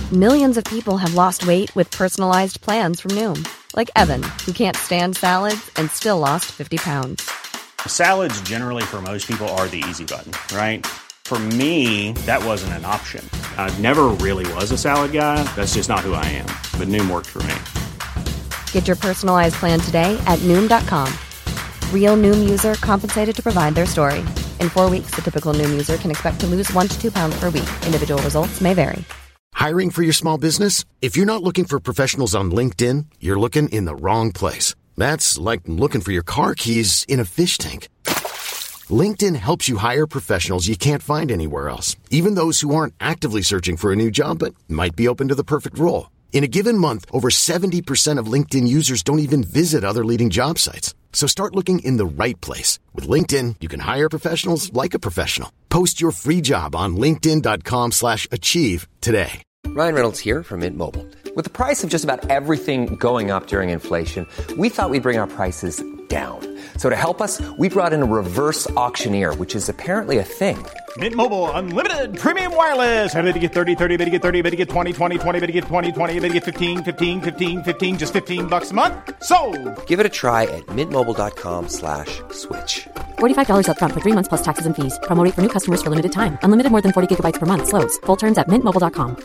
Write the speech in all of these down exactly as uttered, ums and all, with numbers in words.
Millions of people have lost weight with personalized plans from Noom. Like Evan, who can't stand salads and still lost fifty pounds. Salads generally for most people are the easy button, right? For me, that wasn't an option. I never really was a salad guy. That's just not who I am. But Noom worked for me. Get your personalized plan today at Noom dot com. Real Noom user compensated to provide their story. In four weeks, the typical Noom user can expect to lose one to two pounds per week. Individual results may vary. Hiring for your small business? If you're not looking for professionals on LinkedIn, you're looking in the wrong place. That's like looking for your car keys in a fish tank. LinkedIn helps you hire professionals you can't find anywhere else, even those who aren't actively searching for a new job but might be open to the perfect role. In a given month, over seventy percent of LinkedIn users don't even visit other leading job sites. So start looking in the right place. With LinkedIn, you can hire professionals like a professional. Post your free job on linkedin dot com slash achieve today. Ryan Reynolds here from Mint Mobile. With the price of just about everything going up during inflation, we thought we'd bring our prices down. So to help us, we brought in a reverse auctioneer, which is apparently a thing. Mint Mobile Unlimited Premium Wireless. How to get thirty, thirty, how to get thirty, how to get twenty, twenty, twenty, how to get twenty, twenty, how to get fifteen, fifteen, fifteen, fifteen, just fifteen bucks a month? Sold! Give it a try at mintmobile.com slash switch. forty-five dollars up front for three months plus taxes and fees. Promo rate for new customers for limited time. Unlimited more than forty gigabytes per month. Slows full terms at mint mobile dot com.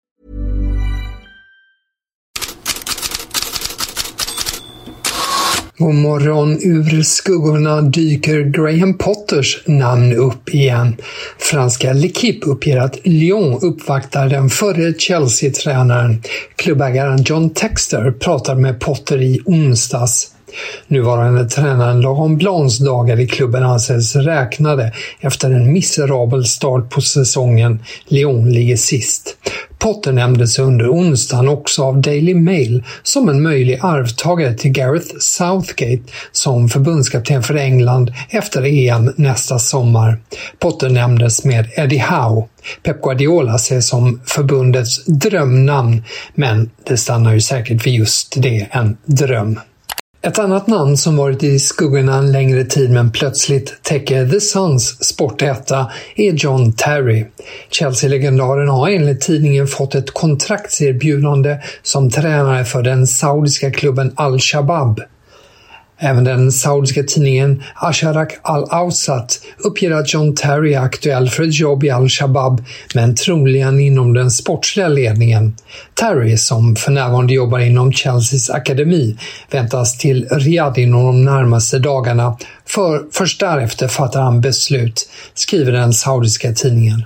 God morgon, ur skuggorna dyker Graham Potters namn upp igen. Franska L'Équipe uppger att Lyon uppvaktar den förre Chelsea-tränaren. Klubbägaren John Textor pratar med Potter i onsdags. Nuvarande tränaren Laurent Blancs dagar i klubben anses räknade efter en miserabel start på säsongen. Lyon ligger sist. Potter nämndes under onsdagen också av Daily Mail som en möjlig arvtagare till Gareth Southgate som förbundskapten för England efter E M nästa sommar. Potter nämndes med Eddie Howe. Pep Guardiola ses som förbundets drömnamn, men det stannar ju säkert vid just det, en dröm. Ett annat namn som varit i skuggorna en längre tid men plötsligt täcker The Suns sportetta är John Terry. Chelsea-legendaren har enligt tidningen fått ett kontraktserbjudande som tränare för den saudiska klubben Al-Shabaab. Även den saudiska tidningen Asharak Al-Awsat uppger att John Terry är aktuell för ett jobb i Al-Shabaab, men troligen inom den sportsliga ledningen. Terry, som för närvarande jobbar inom Chelseas akademi, väntas till Riyadh inom de närmaste dagarna, för först därefter fattar han beslut, skriver den saudiska tidningen.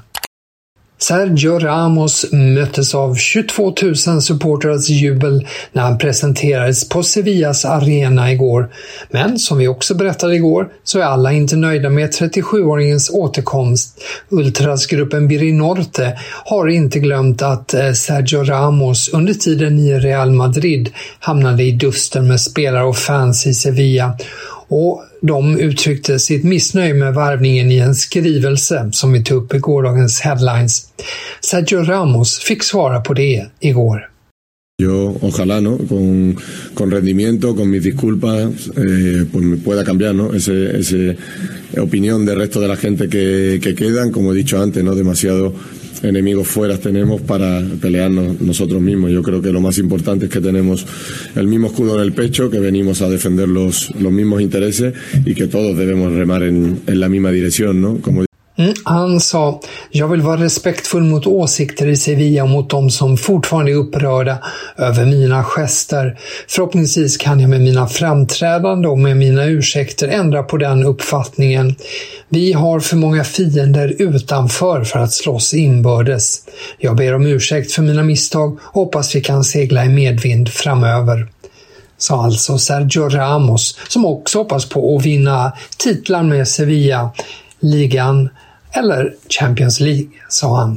Sergio Ramos möttes av tjugotvå tusen supporters jubel när han presenterades på Sevillas arena igår. Men som vi också berättade igår så är alla inte nöjda med trettiosjuåringens återkomst. Ultrasgruppen Birinorte har inte glömt att Sergio Ramos under tiden i Real Madrid hamnade i dusten med spelare och fans i Sevilla. Och de uttryckte sitt missnöje med värvningen i en skrivelse som vi tog upp i gårdagens headlines. Sergio Ramos fick svara på det igår. Yo, ojalá, ¿no? Con, con rendimiento, con mis disculpas, eh, pues me pueda cambiar, ¿no? Ese, ese opinión del resto de la gente que, que quedan, como he dicho antes, ¿no? Demasiado enemigos fuera tenemos para pelearnos nosotros mismos. Yo creo que lo más importante es que tenemos el mismo escudo en el pecho, que venimos a defender los, los mismos intereses y que todos debemos remar en, en la misma dirección, ¿no? Como Mm, han sa, jag vill vara respektfull mot åsikter i Sevilla och mot de som fortfarande är upprörda över mina gester. Förhoppningsvis kan jag med mina framträdande och med mina ursäkter ändra på den uppfattningen. Vi har för många fiender utanför för att slåss inbördes. Jag ber om ursäkt för mina misstag och hoppas vi kan segla i medvind framöver. Sa alltså Sergio Ramos, som också hoppas på att vinna titlar med Sevilla, ligan eller Champions League, sa han.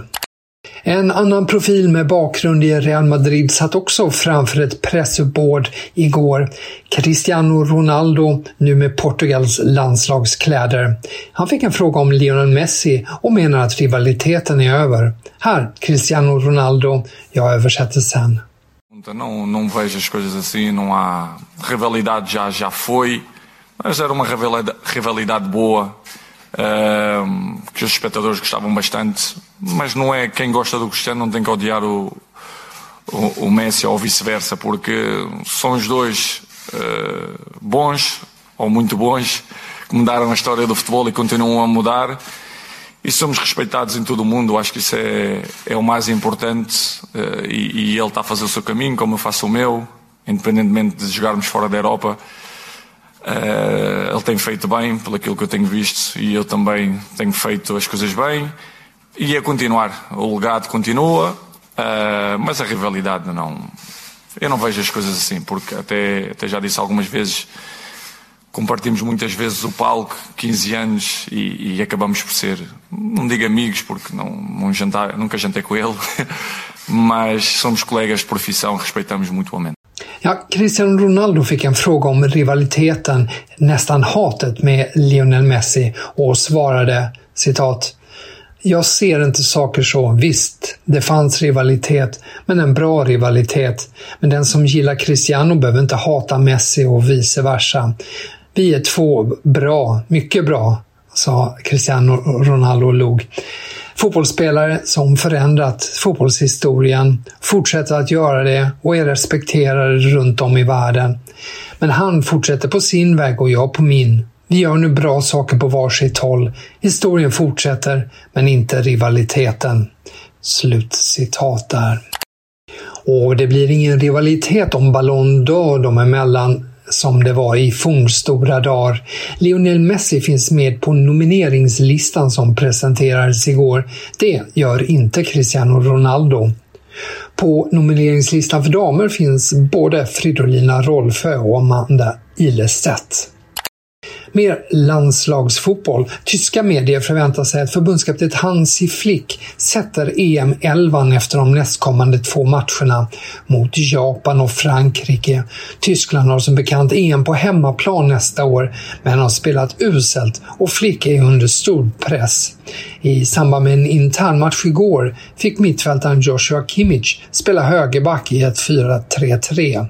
En annan profil med bakgrund i Real Madrid satt också framför ett pressuppbord igår. Cristiano Ronaldo, nu med Portugals landslagskläder. Han fick en fråga om Lionel Messi och menar att rivaliteten är över. Här, Cristiano Ronaldo, jag översätter sen. Não, não vejo as coisas assim, não há rivalidade, já, já foi, mas era uma rivalidade, rivalidade boa. Uh, que os espectadores gostavam bastante, mas não é quem gosta do Cristiano não tem que odiar o, o, o Messi ou vice-versa, porque são os dois uh, bons ou muito bons que mudaram a história do futebol e continuam a mudar, e somos respeitados em todo o mundo. Acho que isso é, é o mais importante, uh, e, e ele está a fazer o seu caminho como eu faço o meu, independentemente de jogarmos fora da Europa. Uh, ele tem feito bem, pelo aquilo que eu tenho visto, e eu também tenho feito as coisas bem, e é continuar. O legado continua, uh, mas a rivalidade não. Eu não vejo as coisas assim, porque até, até já disse algumas vezes, compartimos muitas vezes o palco, quinze anos, e, e acabamos por ser, não digo amigos, porque não, não jantar, nunca jantei com ele, mas somos colegas de profissão, respeitamos mutuamente. Ja, Cristiano Ronaldo fick en fråga om rivaliteten, nästan hatet med Lionel Messi, och svarade, citat: "Jag ser inte saker så. Visst, det fanns rivalitet, men en bra rivalitet. Men den som gillar Cristiano behöver inte hata Messi och vice versa. Vi är två bra, mycket bra", sa Cristiano Ronaldo och log. Fotbollsspelare som förändrat fotbollshistorien fortsätter att göra det och är respekterade runt om i världen. Men han fortsätter på sin väg och jag på min. Vi gör nu bra saker på varsitt håll. Historien fortsätter, men inte rivaliteten. Slutcitat där. Och det blir ingen rivalitet om Ballon d'Or dem emellan som det var i fornstora dagar. Lionel Messi finns med på nomineringslistan som presenterades igår. Det gör inte Cristiano Ronaldo. På nomineringslistan för damer finns både Fridolina Rolfö och Amanda Ilestedt. Mer landslagsfotboll. Tyska medier förväntar sig att förbundskapten Hansi Flick sätter E M elva efter de nästkommande två matcherna mot Japan och Frankrike. Tyskland har som bekant E M på hemmaplan nästa år, men har spelat uselt och Flick är under stor press. I samband med en intern match igår fick mittfältaren Joshua Kimmich spela högerback i ett fyra tre tre.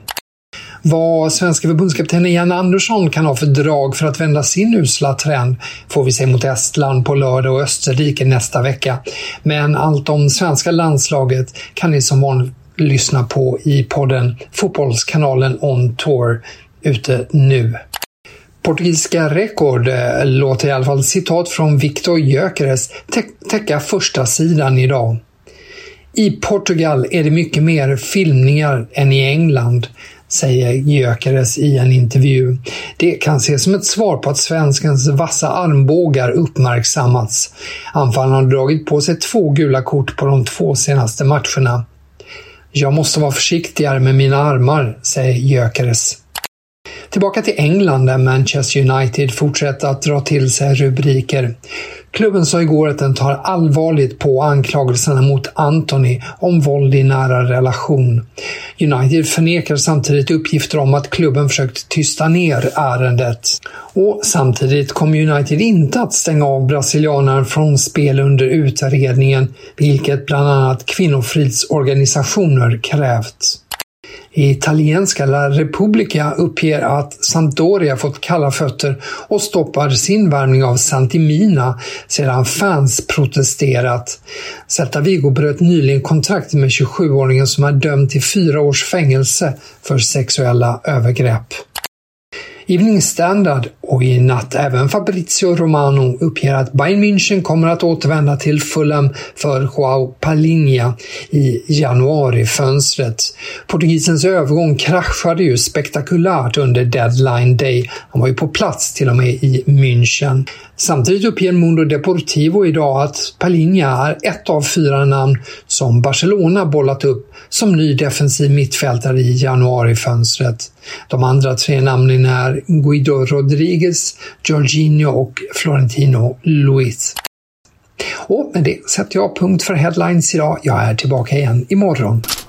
Vad svenska förbundskapten Jan Andersson kan ha för drag för att vända sin usla trend får vi se mot Estland på lördag och Österrike nästa vecka. Men allt om svenska landslaget kan ni som vanligt lyssna på i podden Fotbollskanalen On Tour ute nu. Portugisiska Record låter i alla fall citat från Victor Gyökeres tä- täcka första sidan idag. I Portugal är det mycket mer filmningar än i England, säger Gyökeres i en intervju. Det kan ses som ett svar på att svenskens vassa armbågar uppmärksammats. Anfallarna har dragit på sig två gula kort på de två senaste matcherna. Jag måste vara försiktigare med mina armar, säger Gyökeres. Tillbaka till England där Manchester United fortsätter att dra till sig rubriker. Klubben sa igår att den tar allvarligt på anklagelserna mot Anthony om våld i nära relation. United förnekar samtidigt uppgifter om att klubben försökt tysta ner ärendet. Och samtidigt kommer United inte att stänga av brasilianaren från spel under utredningen, vilket bland annat kvinnofridsorganisationer krävt. Italienska La Repubblica uppger att Sampdoria fått kalla fötter och stoppar sin värvning av Santimina sedan fans protesterat. Celta Vigo bröt nyligen kontrakt med tjugosjuåringen som är dömd till fyra års fängelse för sexuella övergrepp. Evening Standard och i natt även Fabrizio Romano uppger att Bayern München kommer att återvända till Fulham för Joao Palhinha i januari-fönstret. Portugisens övergång kraschade ju spektakulärt under deadline day. Han var ju på plats till och med i München. Samtidigt uppger Mundo Deportivo idag att Palhinha är ett av fyra namn som Barcelona bollat upp som ny defensiv mittfältare i januari-fönstret. De andra tre namnen är Guido Rodriguez, Jorginho och Florentino Luis. Och med det sätter jag punkt för headlines idag. Jag är tillbaka igen imorgon.